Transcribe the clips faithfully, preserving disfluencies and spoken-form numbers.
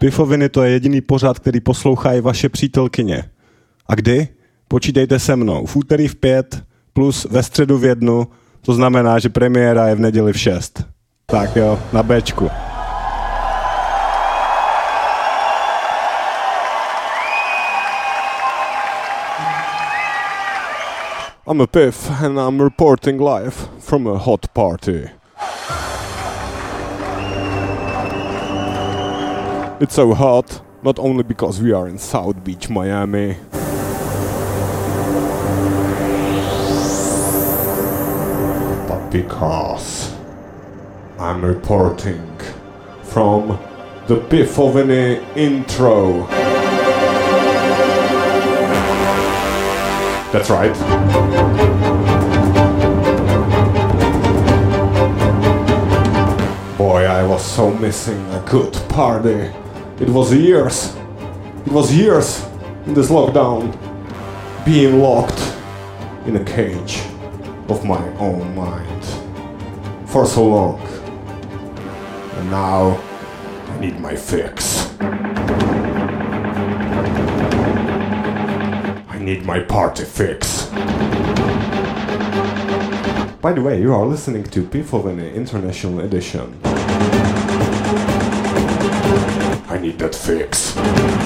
Pifoviny to je jediný pořad, který poslouchají vaše přítelkyně. A kdy? Počítejte se mnou. V úterý v pět plus ve středu v jednu, to znamená, že premiéra je v neděli v šest. Tak jo, na Bčku. I'm a Piff and I'm reporting live from a hot party. It's so hot, not only because we are in South Beach, Miami. But because I'm reporting from the Pifoviny intro. That's right. Boy, I was so missing a good party. It was years. It was years in this lockdown. Being locked in a cage of my own mind. For so long. And now I need my fix. I need my party fix. By the way, you are listening to Pifoviny International Edition. I need that fix.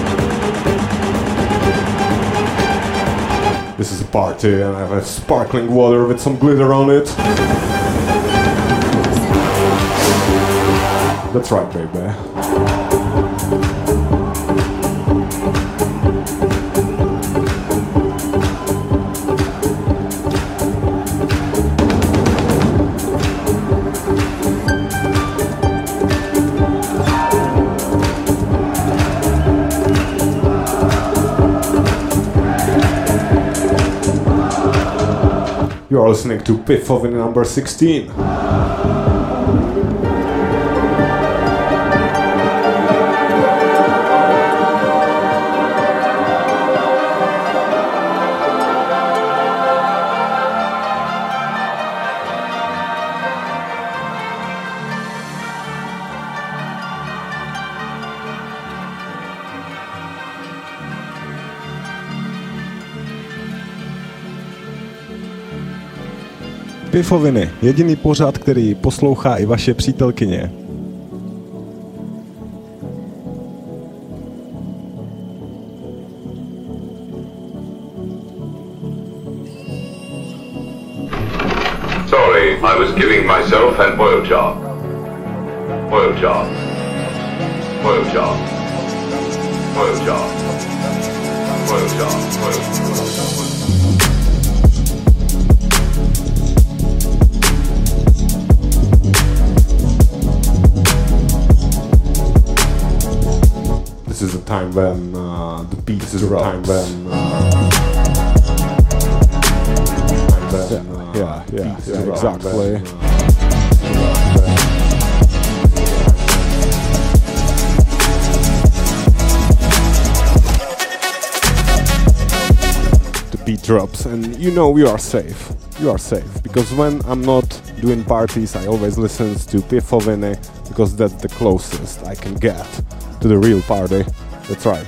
This is a party and I have sparkling water with some glitter on it. That's right, baby. You are listening to Pifoviny number sixteen. Pifoviny, jediný pořad, který poslouchá i vaše přítelkyně. Sorry, I was giving myself an oil jar. Oil jar. Oil jar. Oil jar. Oil jar. Oil jar. This is the time when uh, the beat is the time when, uh, time when uh, yeah, yeah, yeah, yeah exactly. When, uh, the beat drops, and you know you are safe. You are safe because when I'm not doing parties, I always listen to Pifoviny because that's the closest I can get to the real party. That's right.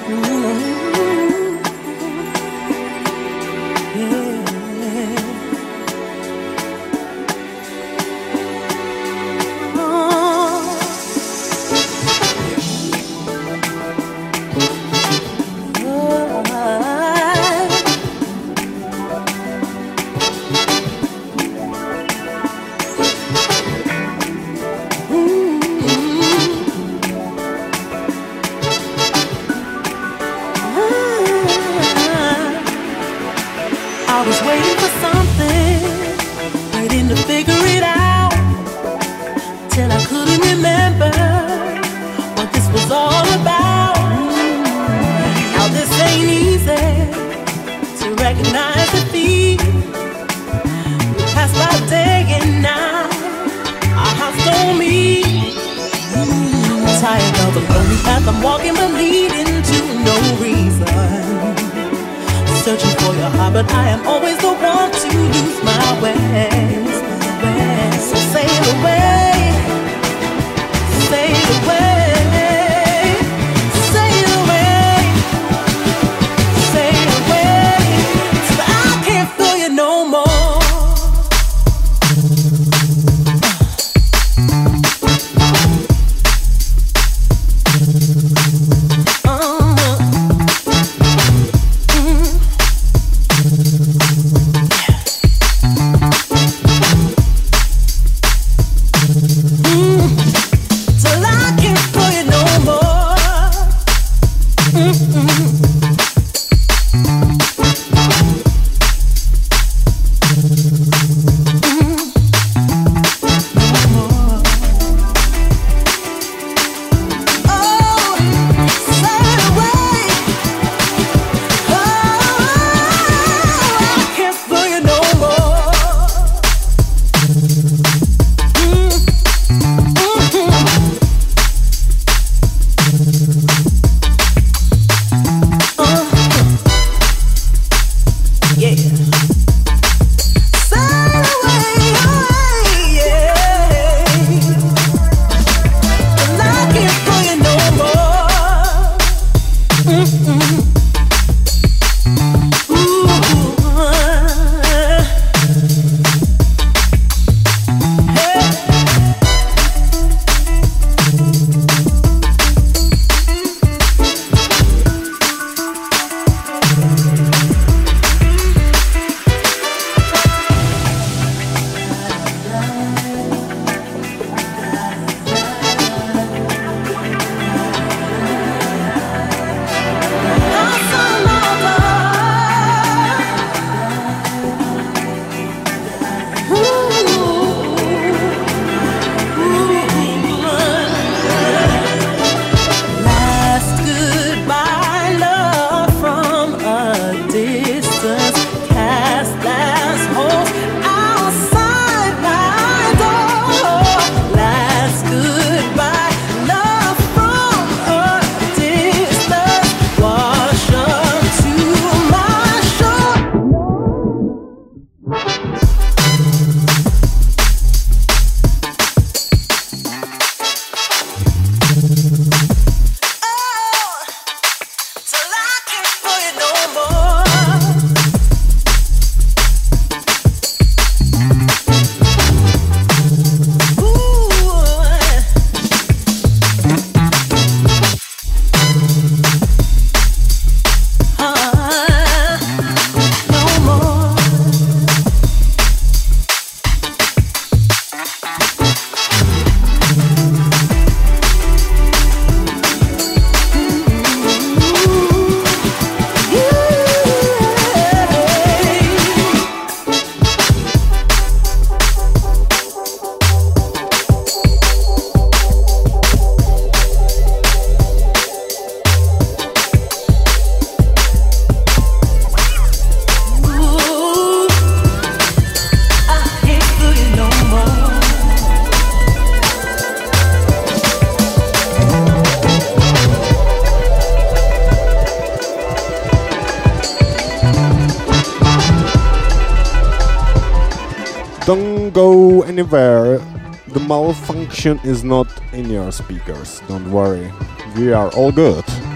Don't go anywhere. The malfunction is not in your speakers. Don't worry. We are all good.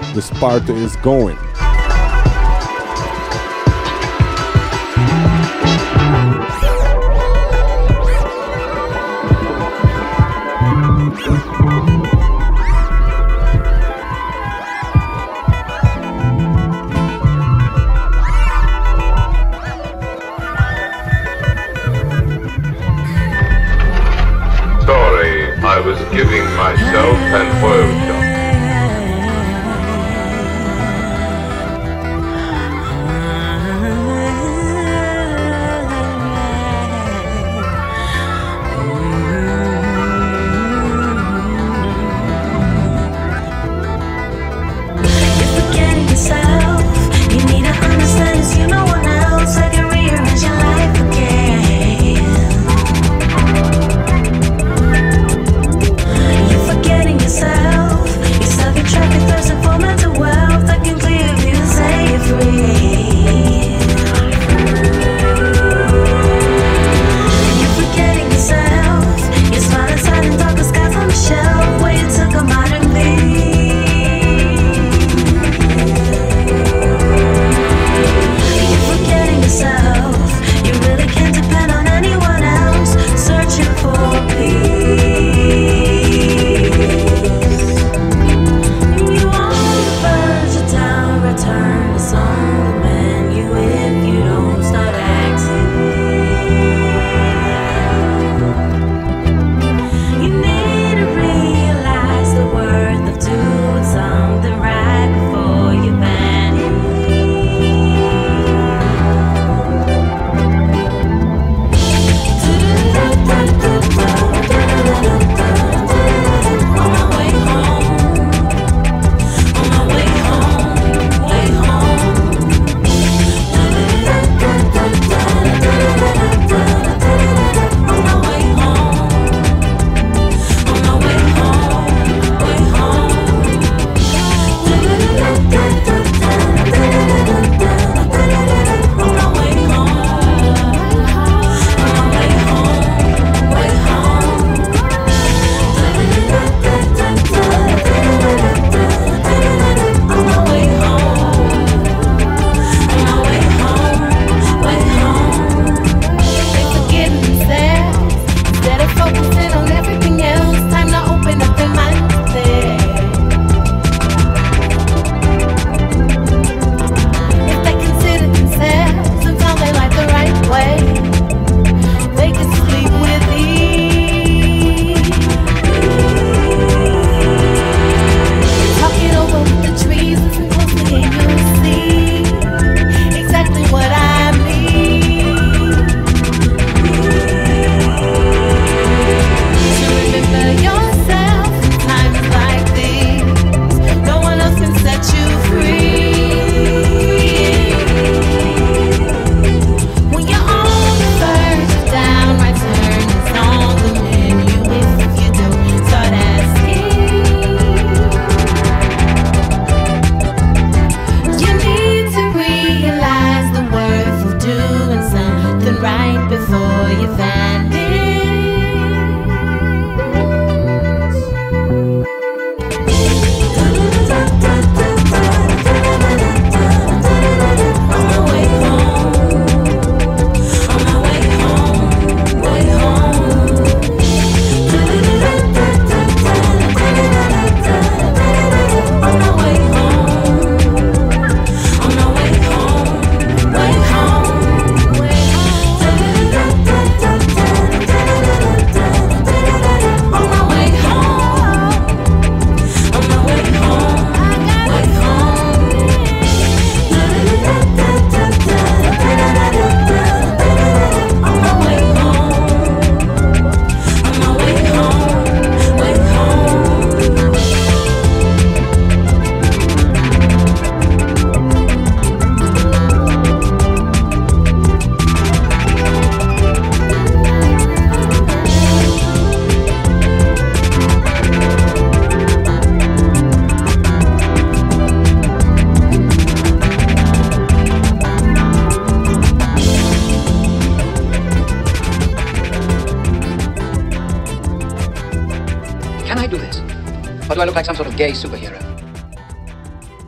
This party is going. I was giving myself an oil job. Can I do this? Or do I look like some sort of gay superhero?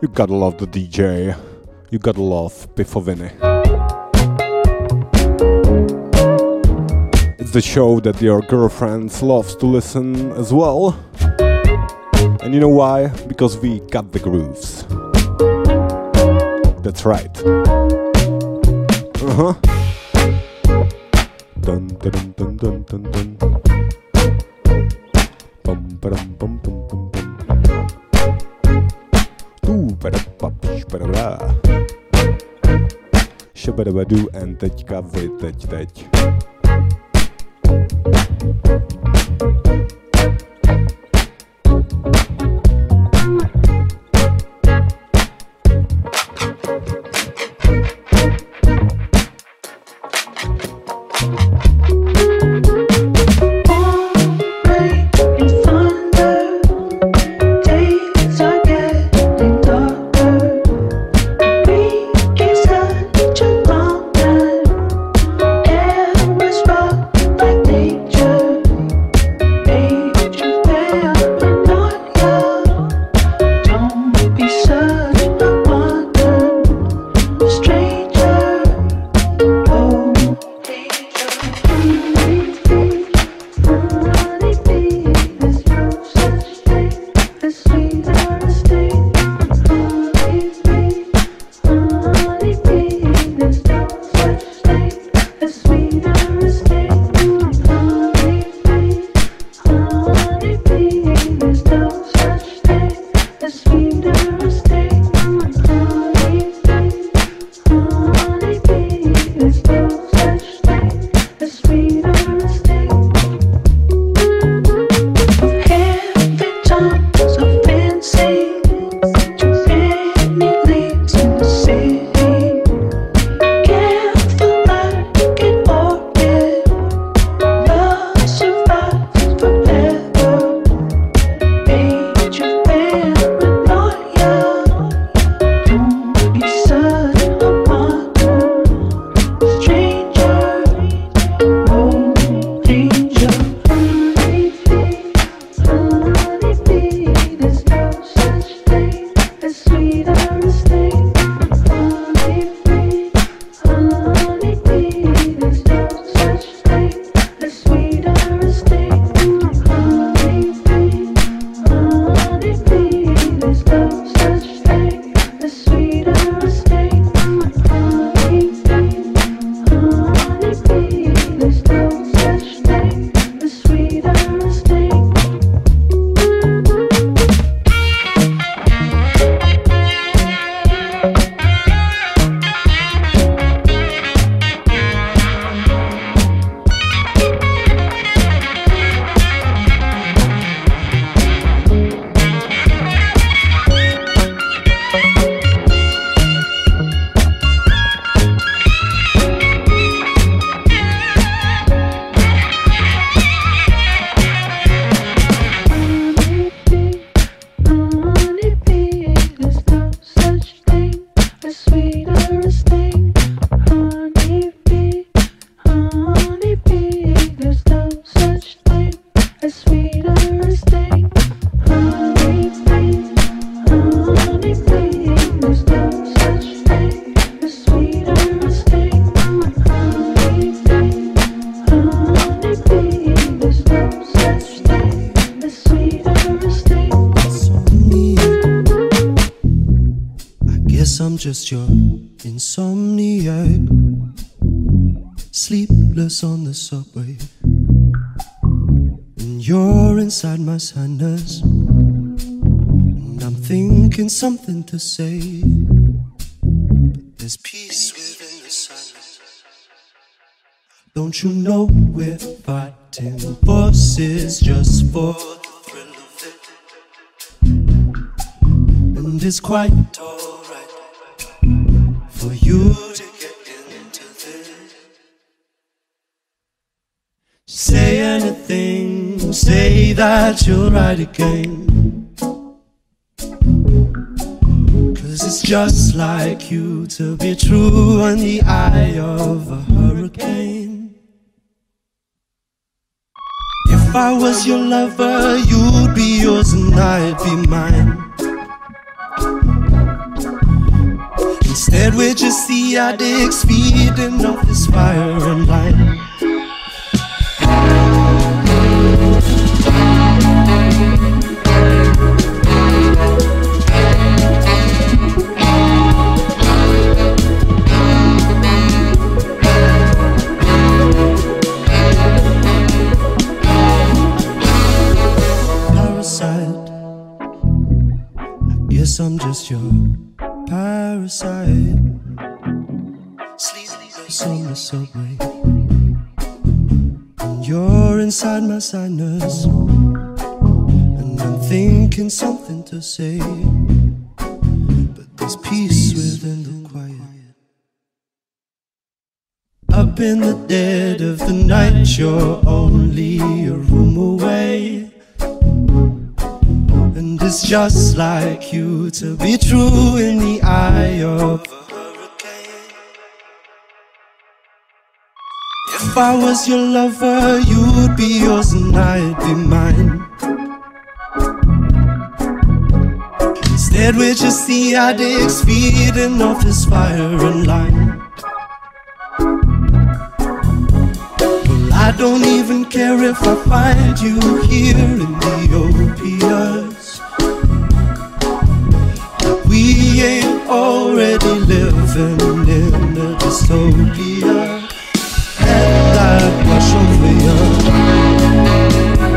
You gotta love the D J. You gotta love Pifoviny. It's the show that your girlfriend loves to listen as well. And you know why? Because we got the grooves. That's right. Uh-huh. Dun dun dun dun dun dun. Bum ba-dum bum bum bum bum. Tu ba-da-ba-piš ba-da-ba. Šabadabadu and teďka vy teď teď. Just your insomniac, sleepless on the subway, and you're inside my sadness, and I'm thinking something to say, but there's peace within the silence. Don't you know we're fighting forces just for the thrill of it, and it's quite alright for you to get into this. Say anything, say that you'll ride again, 'cause it's just like you to be true in the eye of a hurricane. If I was your lover, you'd be yours and I'd be mine. Instead we're just the addicts feeding off this fire and light. I'm just your parasite. Sleepless on the subway, and you're inside my sinus, and I'm thinking something to say, but there's peace within the quiet. Up in the dead of the night, you're only a room away. And it's just like you to be true in the eye of a hurricane. If I was your lover, you'd be yours and I'd be mine. Instead we're just the addicts feeding off this fire and light. Well, I don't even care if I find you here in the opiates. We ain't already living in a dystopia, and I'd wash over you.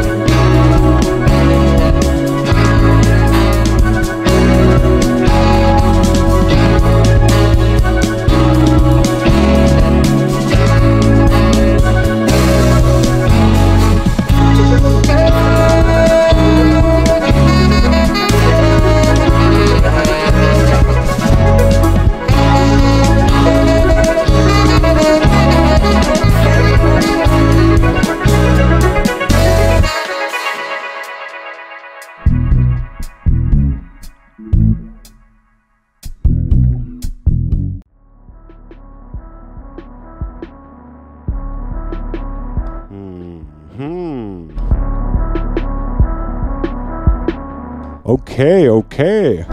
Okay, okay.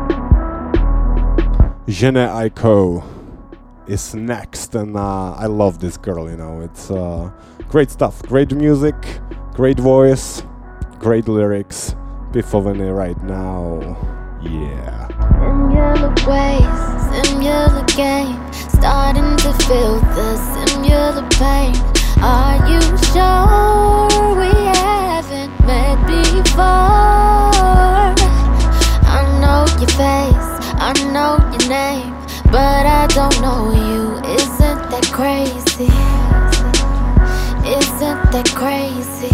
Jhené Aiko is next, and uh, I love this girl, you know. It's uh, great stuff, great music, great voice, great lyrics. Piffovany right now, yeah. Similar ways, similar game, starting to feel the similar pain. Are you sure we haven't met before? I know your face, I know your name, but I don't know you. Isn't that crazy? Isn't that crazy?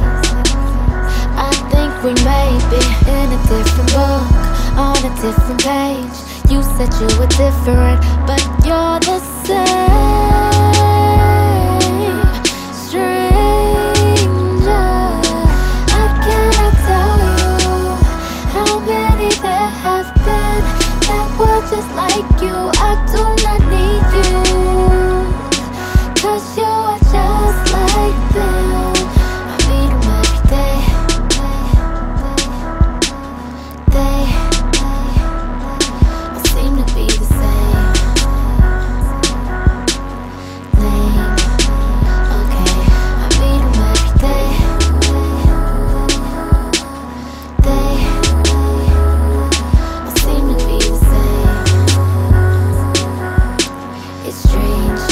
I think we may be in a different book, on a different page. You said you were different, but you're the same. Stranger, I cannot tell you how many there have been that were just like you. I do not need you, 'cause you are just like them. I meet them every day. They, I seem to be the same. Lame. Okay, I meet them every day. They, I seem to be the same. It's strange.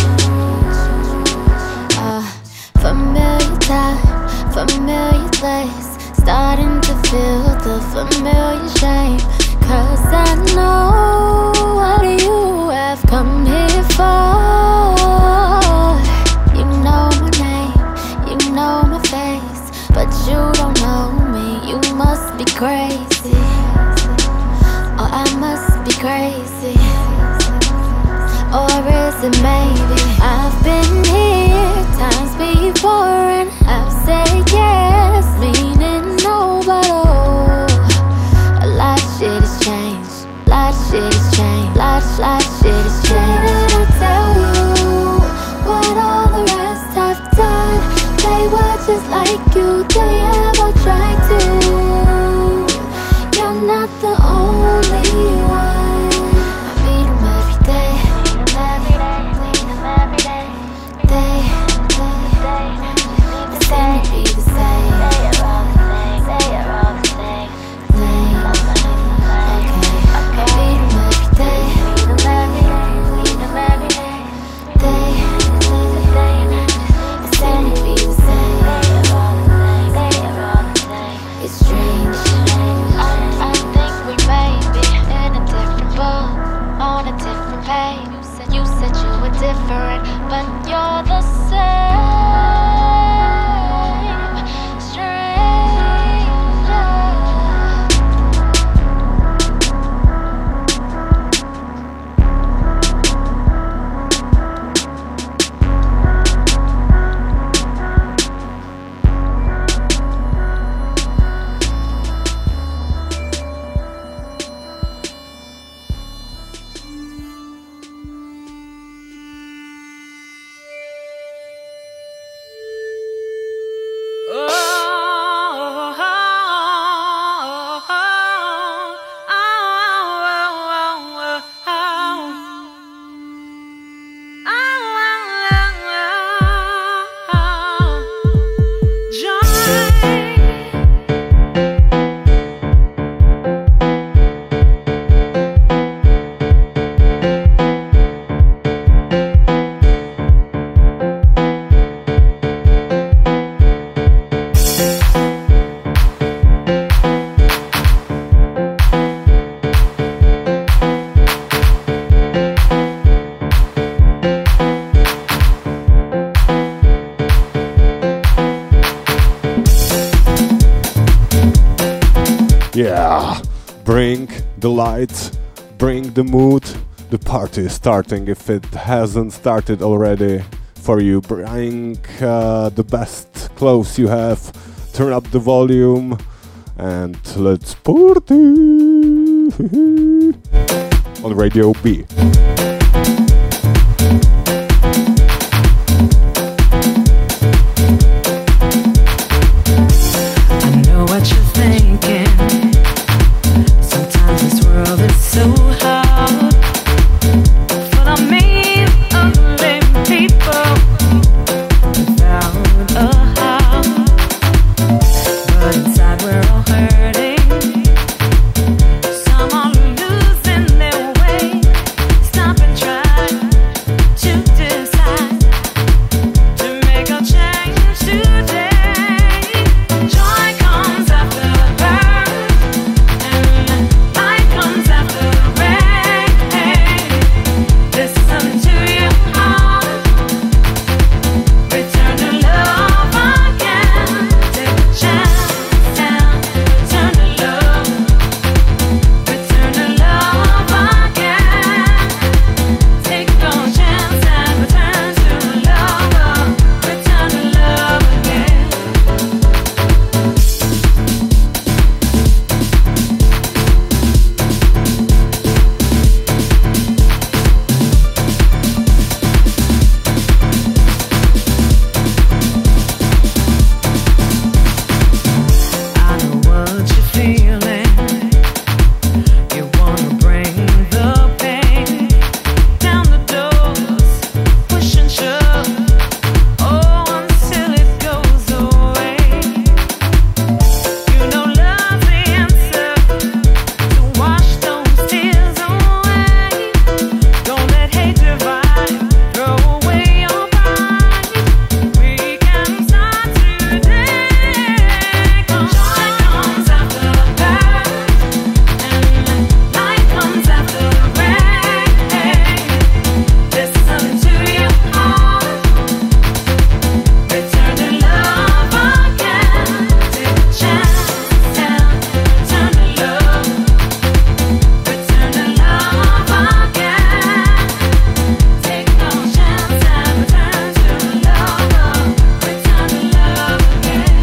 Uh, familiar time, familiar place, starting to feel the familiar shame. 'Cause I know what you have come here for. You know my name, you know my face, but you don't know me. You must be crazy, or I must be crazy. Or is it maybe I've been here times before and I've said yes, meaning no, but oh, a lot of shit has changed, a lot of shit has changed, a lot, lot of shit has changed. Did I tell you what all the rest have done? They were just like you, they ever tried to. You're not the only one. I meet them every day. Bring the lights, bring the mood. The party is starting if it hasn't started already for you. Bring uh, the best clothes you have, turn up the volume, and let's party on Radio B. I know what you're thinking. Sometimes this world is so hard, full of mean, ugly people without a heart. But inside we're all hurting. Some are losing their way. Stop and try to decide to make a change today. Joy comes after the burn, and light comes after the rain. Listen to your heart, return to love again. Take a chance and return to love, return to love again. Take no chance and return to love, return to love again. I know what you're feeling. You wanna bring the pain down the doors, push and shove, oh, until it goes away. You know love's the answer to wash those tears away. Don't let hate divide, throw away your pride. We can start today. Joy comes after the burn, and light comes after the rain. Listen to your heart, return to love again. Take a chance and return to love, return to love again. Take no chance and return to love, return to love again.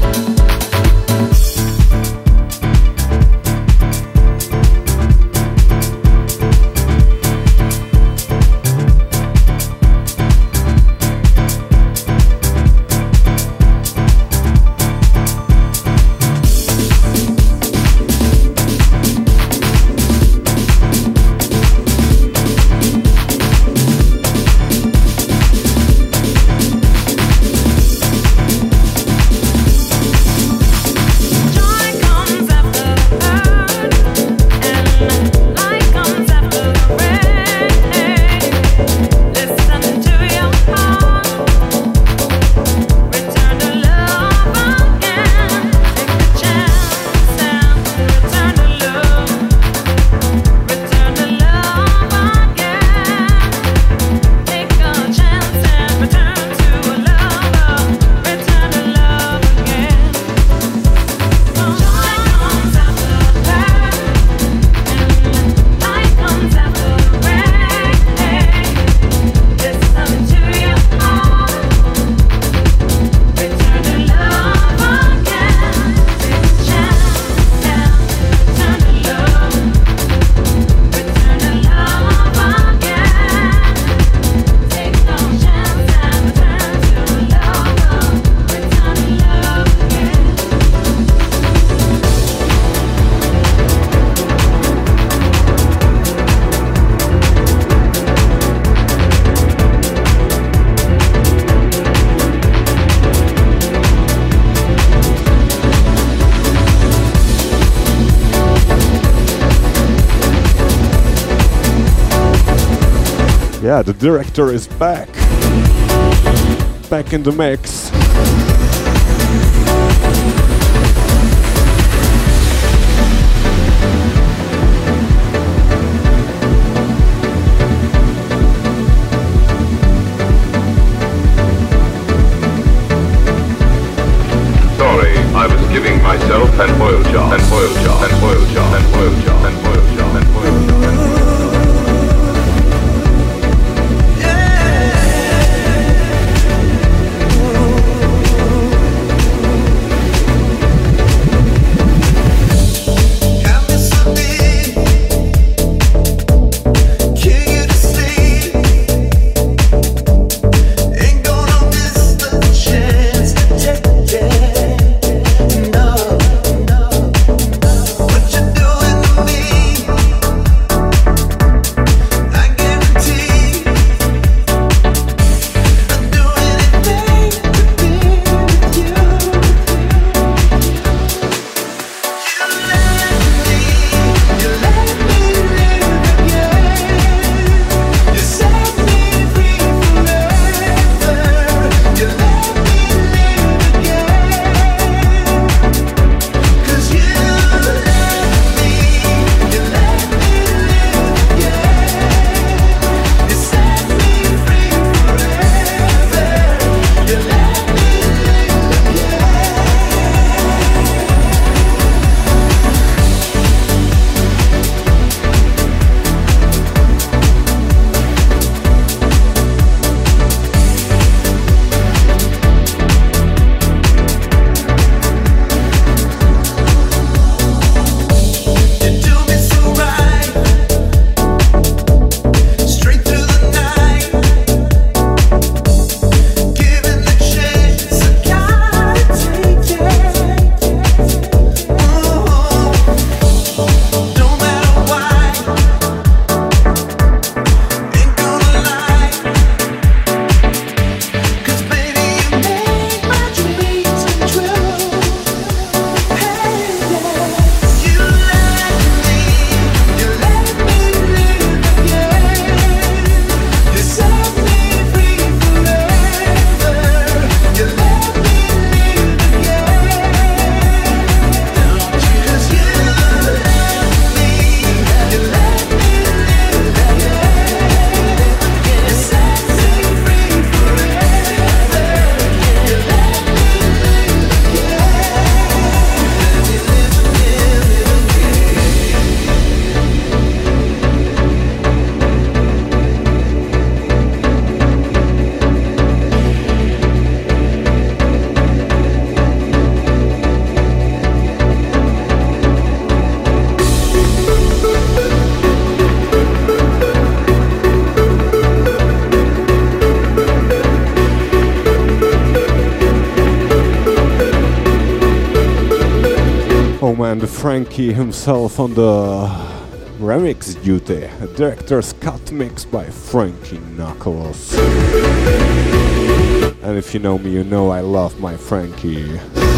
Joy comes after the burn, and light comes after the rain. Listen to your heart, return to love again. Take a chance and return to love, return to love again. Take a chance and return to love, return to love again. Joy comes after the burn, and light comes after the rain. Listen to your heart, return to love again. Take a chance and return to love, return to love again. Take no chance and return to love, return to love again. Yeah, the director is back. Back in the mix. Sorry, I was giving myself an oil job, an oil job, an oil job, an oil and Frankie himself on the remix duty. A director's cut mix by Frankie Knuckles. And if you know me, you know I love my Frankie.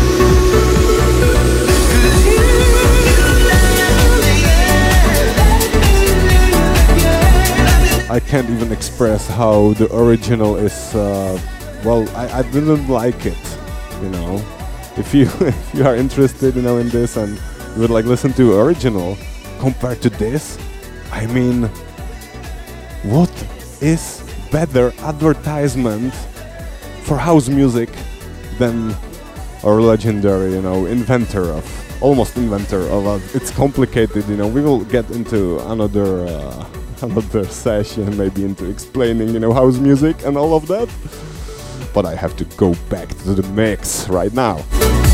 I can't even express how the original is, uh, well, I, I didn't like it, you know. If you if you are interested, you know, in this and you would like listen to original compared to this, I mean, what is better advertisement for house music than our legendary, you know, inventor of, almost inventor of, uh, it's complicated, you know, we will get into another, uh, another session, maybe into explaining, you know, house music and all of that. But I have to go back to the mix right now.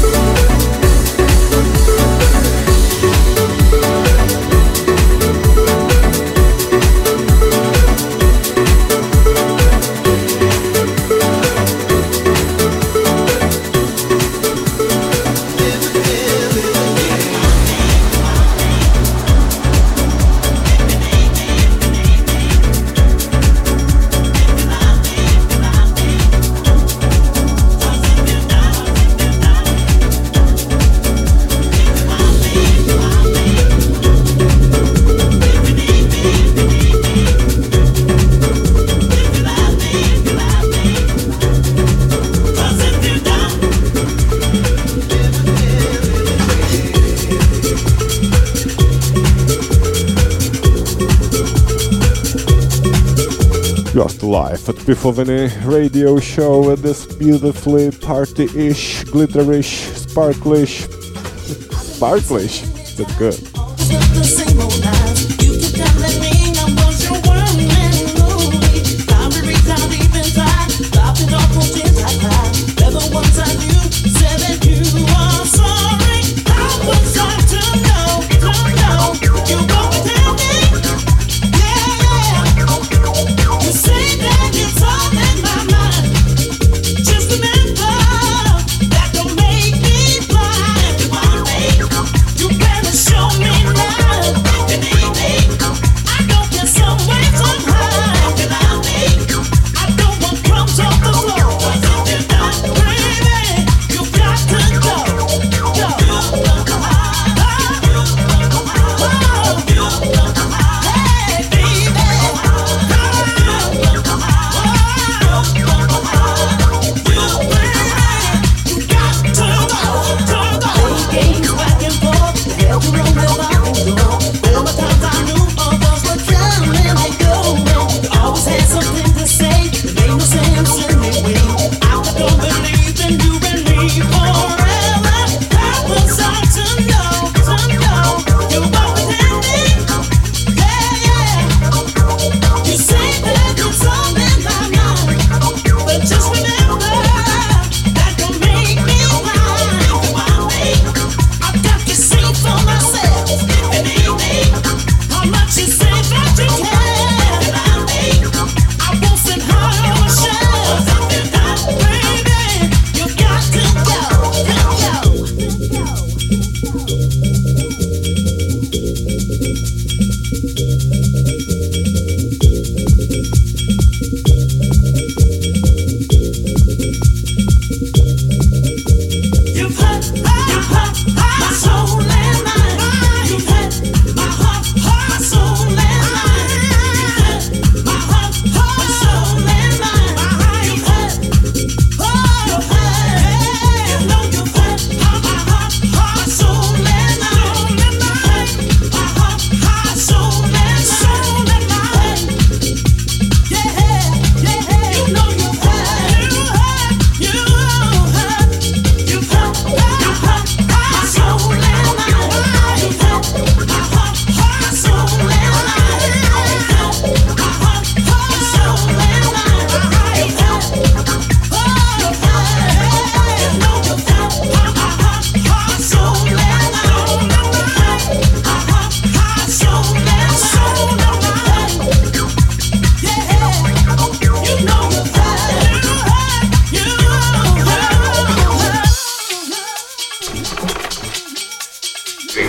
Just live at Pifoviny radio show at this beautifully party-ish, glitterish, sparklish, sparklish, that's good. Show me love.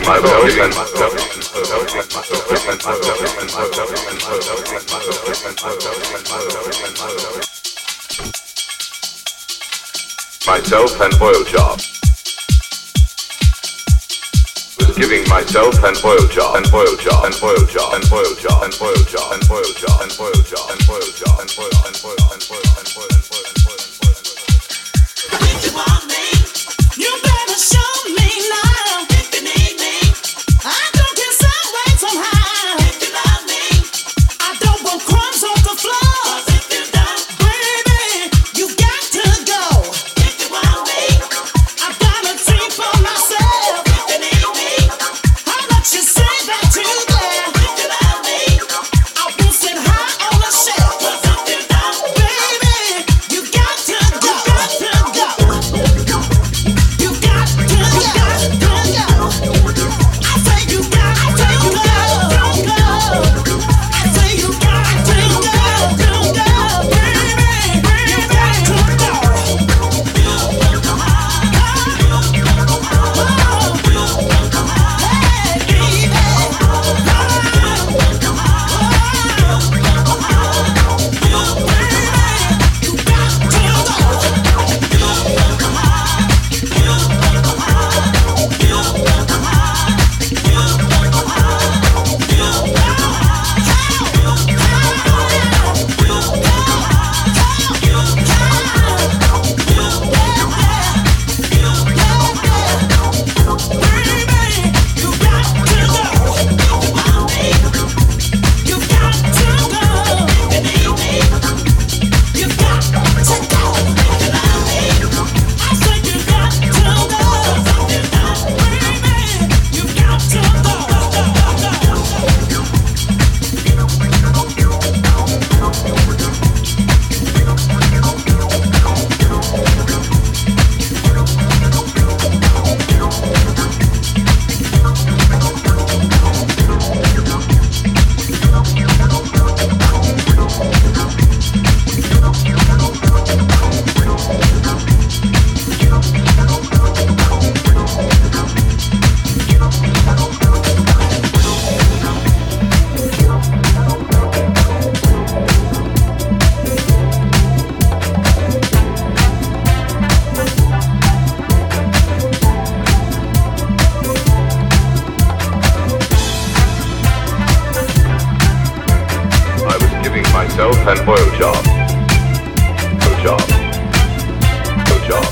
myself an oil job. Was giving myself an oil job, an oil job, an oil job, an oil job, an oil job, an oil job, an oil job, an oil job, an oil, an oil, an oil, an oil, an oil, an oil, an oil, an oil. If you want me, you better show me now. If you need me, I don't care some way somehow. If you love me, I don't want crumbs on the floor. 'Cause if you don't, baby, you got to go. If you want me, I've got a dream for myself. If you need me, how much you say that you there? If you love me, I will sit high on the shelf. 'Cause if you don't, baby, you got to go. You got to go. You got to go. You got to go. I say you got to go. I say you got to go. Baby, you got to go. I was giving myself an oil job. Oil job. Oil job.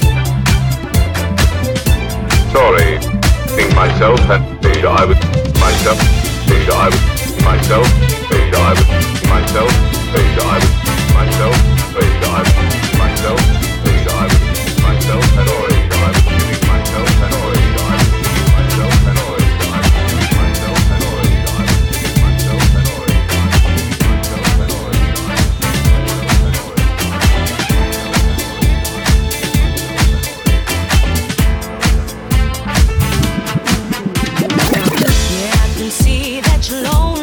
Sorry. Giving myself an oil job. I was myself. Oil job. I was myself. Oil job. I was myself. Oil job. I was myself. Oil job. I was myself. Oil job. I was myself an oil job. I was giving myself an oil job. I was giving myself an oil job. I was giving myself an oil job. I was giving myself an oil job. Yeah, I can see that you're lonely.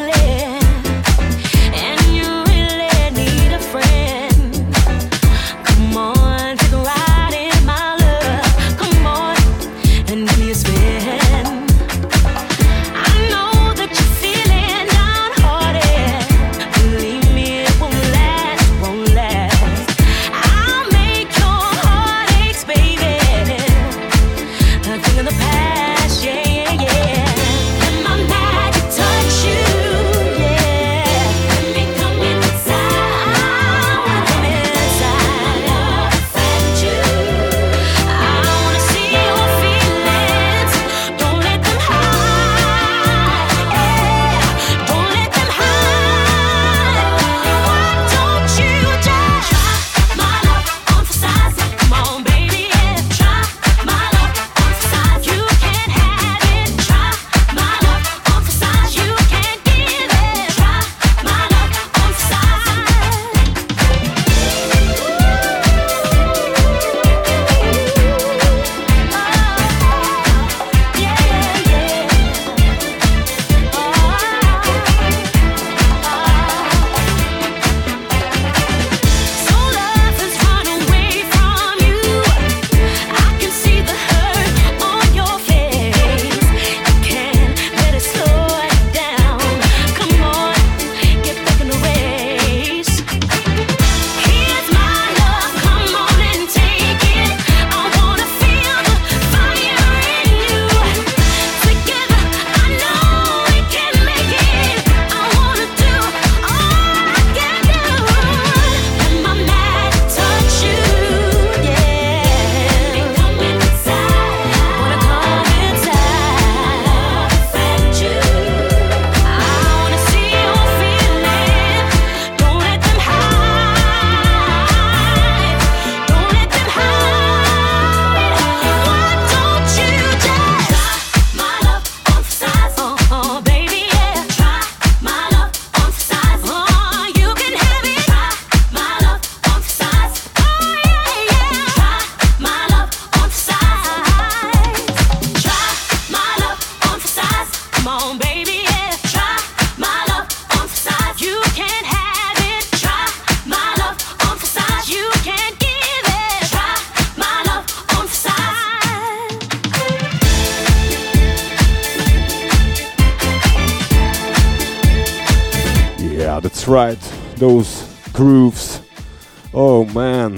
Yeah, that's right. Those grooves. Oh man.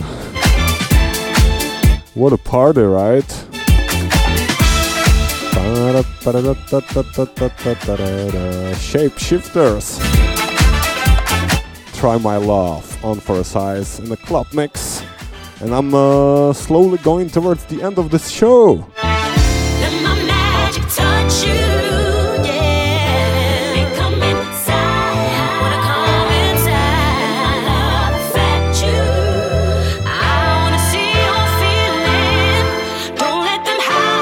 What a party, right? Shapeshifters. Try My Love on for a size in the club mix. And I'm uh, slowly going towards the end of this show. Let my magic touch you, yeah. And come inside, wanna come inside. My love affect you. I wanna see your feeling. Don't let them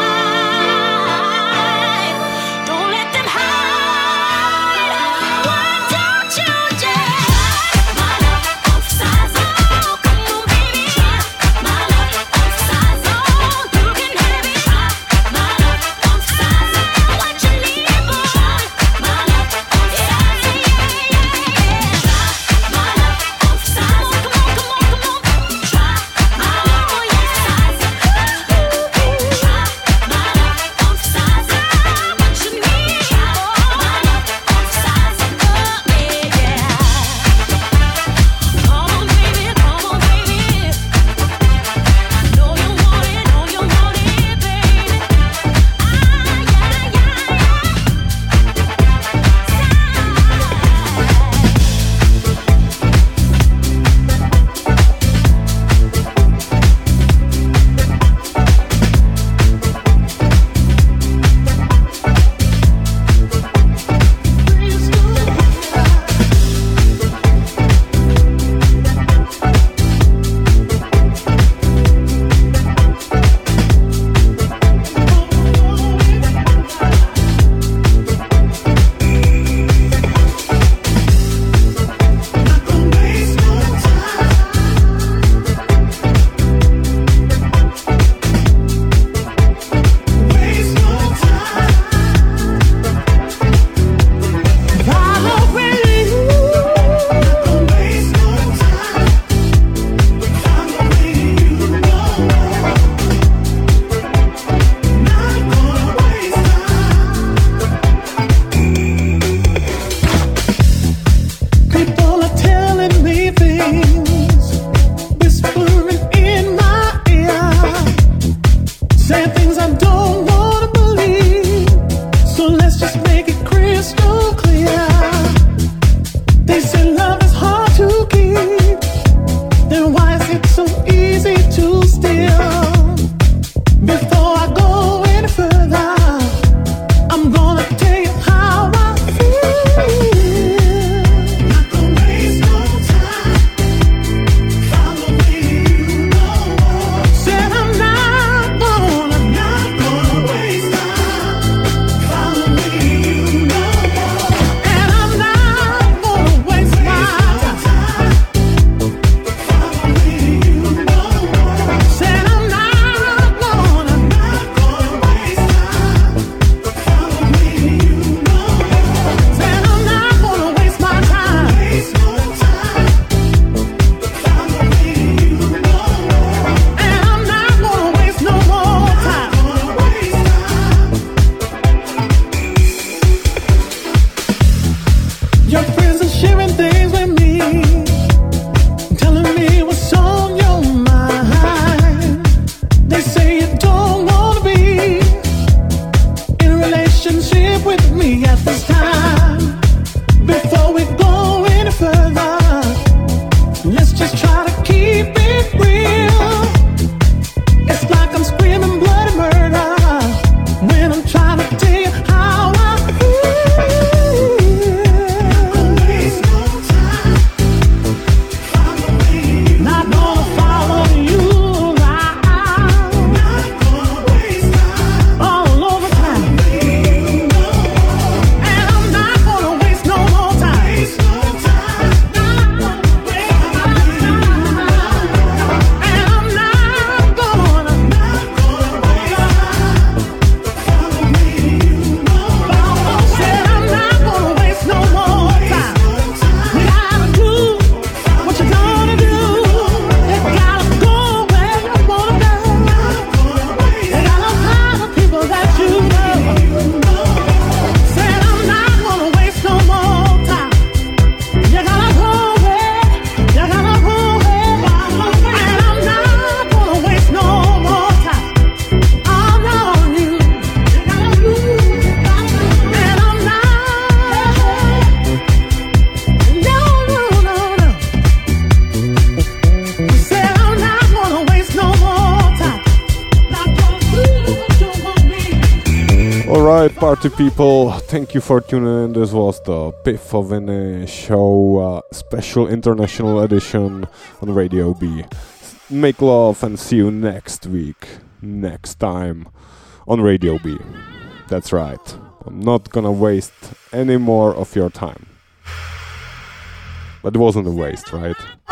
hide. Don't let them hide. Why don't you just my love emphasize? Oh, come on, baby. My love emphasize. Oh, you can have it. My love emphasize. What you need, boy. My love emphasize. Yeah, yeah, yeah. My love emphasize. Come on, come on, come on. Try my love, oh yeah. Try my love emphasize. What you need, boy. My love emphasize. Oh yeah, yeah. Come on, baby, come on, baby. Know you want it, know you want it, baby. Ah, yeah, yeah, people are telling me things, whispering in my ear, saying things I don't wanna believe. So let's just make it crystal clear. They say love is hard to keep. Then why is it so easy to steal? Before I go any further, I'm gonna tell you how I feel. Not gonna waste no time. Follow me, you know. Said I'm not gonna, not gonna waste time. Follow me, you know. And I'm not gonna waste my time. Follow me, you know. Said I'm not gonna, not gonna waste time. Follow me, you know. Said I'm not gonna waste my time. Waste no time. Follow me, you know. And I'm not gonna waste no more time. Gonna waste time. Your friends are sharing things with me, telling me what's on your mind. They say you don't wanna be in a relationship with me at this time. Before we go any further, let's just try to keep it real. It's like I'm screaming bloody murder when I'm trying to tell you how I feel. Not gonna waste no time. Follow me. Not gonna follow you around. Not gonna waste time. All over time. And I'm not gonna waste no more time. Waste no time. Alright, party people, thank you for tuning in. This was the Pifoviny Show uh, special international edition on Radio B. Make love and see you next week, next time on Radio B. That's right, I'm not gonna waste any more of your time. But it wasn't a waste, right?